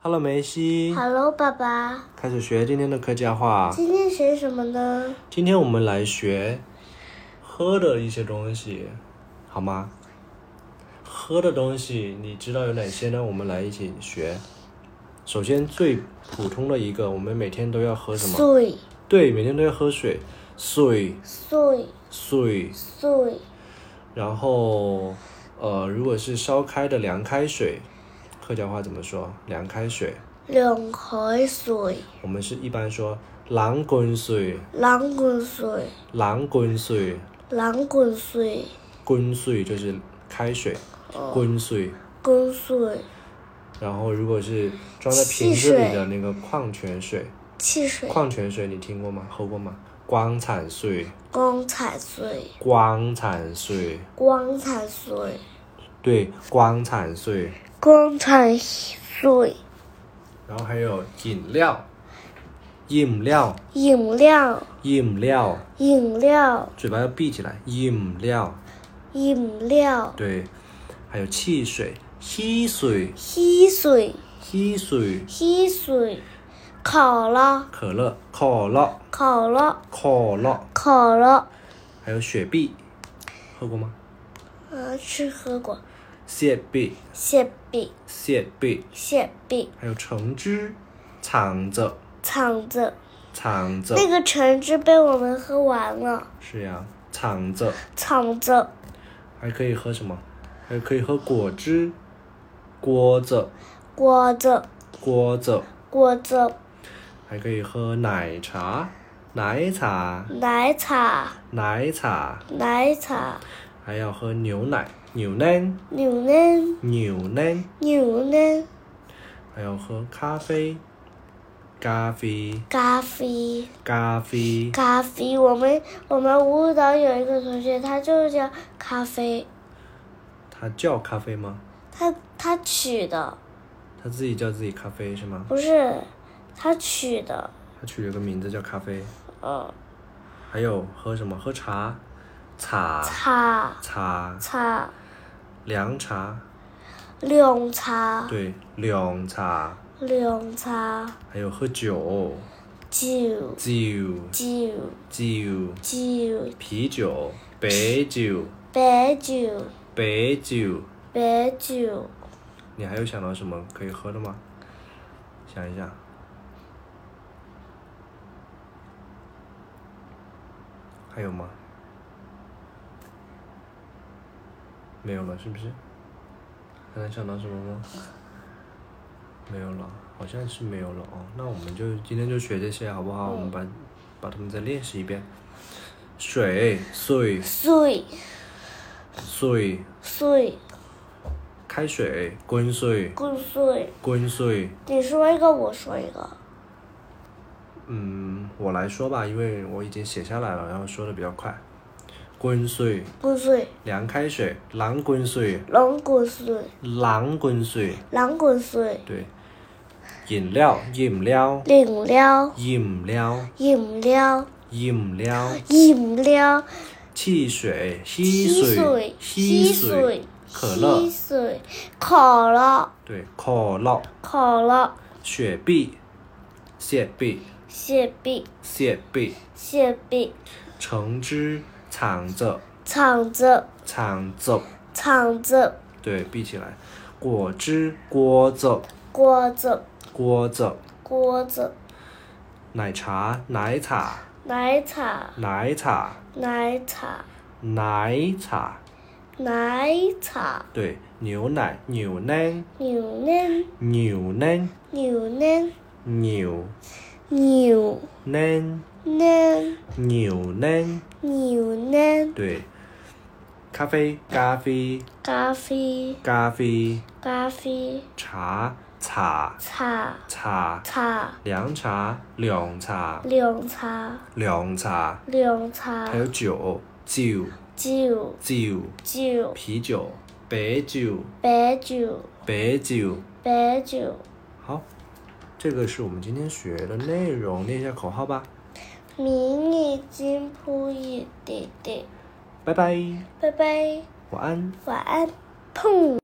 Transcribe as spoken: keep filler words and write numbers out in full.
Hello， 梅西。 Hello， 爸爸。 开始学今天的客家话。 今天学什么呢？ 今天我们来学喝的一些东西，好吗？喝的东西你知道有哪些呢？我们来一起学。首先最普通的一个，我们每天都要喝什么？ 水。对， 每天都要喝水。水。 水。 水。 水。 然后，呃，如果是烧开的凉开水，客家话怎么说？凉开水。 凉开水。 我们是一般说冷滾水。 冷滾水。 冷滾水。 冷滾水。 滾水就是开水。滾水。 滾水。 然后如果是装在瓶子里的那个矿泉水。 汽水。 矿泉水你听过吗？喝过吗？光產水。 光產水。 光產水。 光產水。 对，光產水。 光產水。 然后还有饮料。饮料。 饮料。 饮料。 饮料。 嘴巴要闭起来。饮料。 饮料。 对，还有汽水。汽水。 汽水。 汽水。 汽水。可乐。 可乐。可乐。 可乐。 可乐。 可乐。 还有雪碧，喝过吗？ 呃，吃喝过。 雪碧。 雪碧。 雪碧。 雪碧。 还有橙汁。橙子。 橙子。 橙子。 那个橙汁被我们喝完了。 是呀，橙子。 橙子。 还可以喝什么？还可以喝果汁。果子。 果子。 果子。 果子。 还可以喝奶茶。奶茶。 奶茶。 奶茶。 奶茶。 还要喝牛奶。牛奶。 牛奶。 牛奶。 牛奶。 还要喝咖啡。咖啡。 咖啡。 咖啡。 咖啡。我们我们舞蹈有一个同学，他就叫咖啡。 他叫咖啡吗？ 他他取的。 他自己叫自己咖啡是吗？ 不是，他取的。 他取了个名字叫咖啡。 嗯。 还有喝什么？喝茶。茶。 茶。 茶。 茶。 凉茶。 凉茶。 对，凉茶。 凉茶。 还有喝酒。 酒。 酒。 酒。 酒。 酒。 啤酒。白酒。 白酒。 白酒。 白酒。 你还有想到什么可以喝的吗？想一下。还有吗？没有了，是不是？还能想到什么吗？没有了，好像是没有了哦。那我们就今天就学这些好不好？嗯、我们把把它们再练习一遍。水。水。 水。 水。 水。 开水。滾水。 滾水。 滾水。 你说一个，我說一個。 嗯，我来说吧，因为我已经写下来了，然后说的比较快。滾水。 滾水。 凉开水。冷滾水。 冷滾水。 冷滾水。 冷滾水。 对。饮料。饮料。 飲料。 饮料。 飲料。 饮料。 飲料。 汽水。 汽水。 汽水。 可乐。 汽水。可乐。 对，可乐。 可乐。 雪碧。雪碧。 雪碧。 雪碧。 雪碧。 橙汁。橙子。 橙子。 橙子。 橙子。 对，闭起来。果汁。果子。 果子。 果子。 果子。 奶茶。奶茶。 奶茶。 奶茶。 奶茶。 奶茶。 奶茶。 对，牛奶。牛奶。 牛奶。 牛奶。 牛奶。 牛。 牛奶。 奶。 牛奶。 牛奶。 对，咖啡。咖啡。 咖啡。 咖啡。 咖啡。 茶。茶。 茶。 茶。 茶。 凉茶。凉茶。 凉茶。 凉茶。 凉茶。 还有酒。酒。 酒。 酒。 酒。 啤酒。白酒。 白酒。 白酒。 白酒。 好，这个是我们今天学的内容，念一下口号吧。 明日进步一点点。 拜拜。 拜拜。 晚安。 晚安。砰。